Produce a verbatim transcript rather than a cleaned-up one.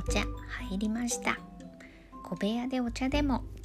茶入りました。小部屋でお茶でも